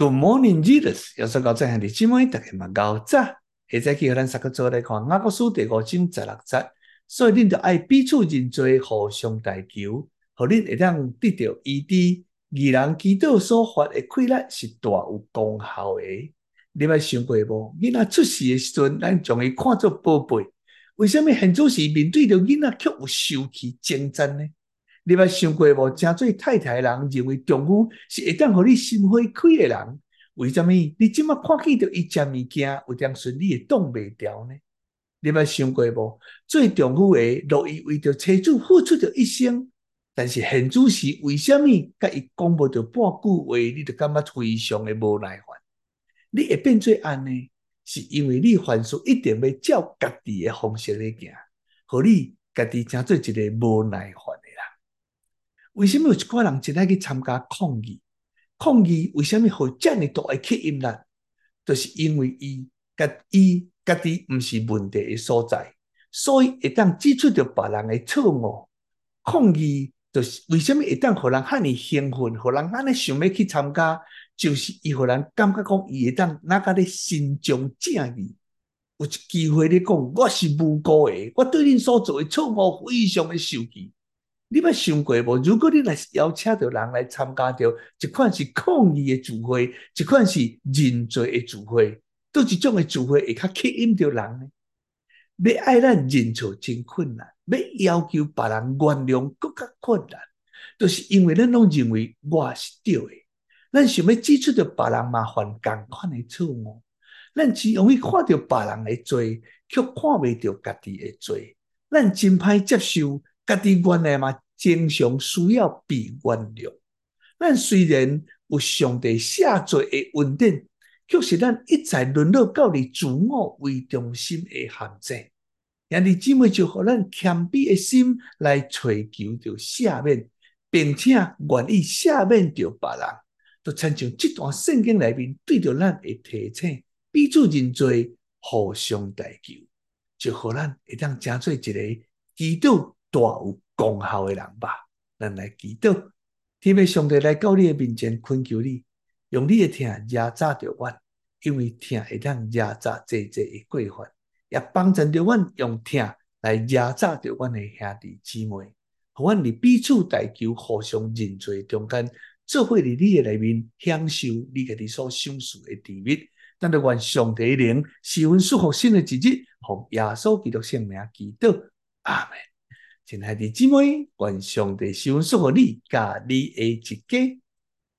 Good morning, Jesus。耶穌講真係你姊妹，大家嘛搞早，下早起互咱三個做來看雅各書第5章16節。所以恁就愛彼此認罪，互相代求，互恁會當得到醫治。義人祈禱所發的氣力是大有功效的。你捌想過無？囡仔出世的時陣，咱將伊看作寶貝，為什麼現在時面對着囡仔卻有受氣爭戰呢？你捌想過無？誠濟太太的人認為丈夫是會當互你心花開的人，為什麼你即馬看見着伊食物件有點順你會擋袂牢呢？你捌想過無？做丈夫的樂意為着妻子付出着一生，但是現在時為什麼甲伊講無着半句話，你就感覺非常的無奈煩？你會變做安尼，是因為你凡事一定要照家己的方式來行，互你家己成做一個無奈煩的人。為什麼有一掛人真愛去參加抗議？抗議為什麼會這麼大的吸引力？就是因為伊家己不是問題的所在，所以會當指出着別人的錯誤。抗議就是為什麼會當互人遐爾興奮，互人安尼想要去參加，就是伊互人感覺講伊會當哪個咧伸張正義，有一機會咧講我是無辜的，我對恁所做的錯誤非常的受氣。你捌想過無？如果你來邀請到人來參加到一款是抗議的聚會，一款是認罪的聚會，倒一種的聚會會較吸引到人呢？要愛咱認錯真困難，要要求別人原諒更加困難，就是因為咱攏認為我是對的，咱想要指出到別人嘛犯同款的錯誤，咱只容易看到別人的罪，卻看袂到家己的罪，咱真歹接受。家己原來嘛，經常需要被原諒。咱雖然有上帝赦罪的恩典，卻是咱一再淪落到你自我為中心的陷阱。兄弟姊妹就互咱謙卑的心來追求着赦免，並且願意赦免着別人，就親像這段聖經裡面對着咱的提醒，彼此認罪，互相代求，就互咱會當成做一個祈禱大有功效的人吧。咱來祈禱，天父上帝來到你的面前懇求你，用你的聽壓榨着阮，因為聽會當壓榨濟的過犯，也幫助着阮用聽來壓榨着阮的兄弟姊妹，互阮佇彼此代求、互相認罪中間，做伙佇你的裡面享受你家己所享受的甜蜜。但願上帝的靈賜阮祝福新的一日，奉耶穌基督聖名祈禱，阿們。親愛的姊妹，願上帝賜阮祝福你，甲你的一家。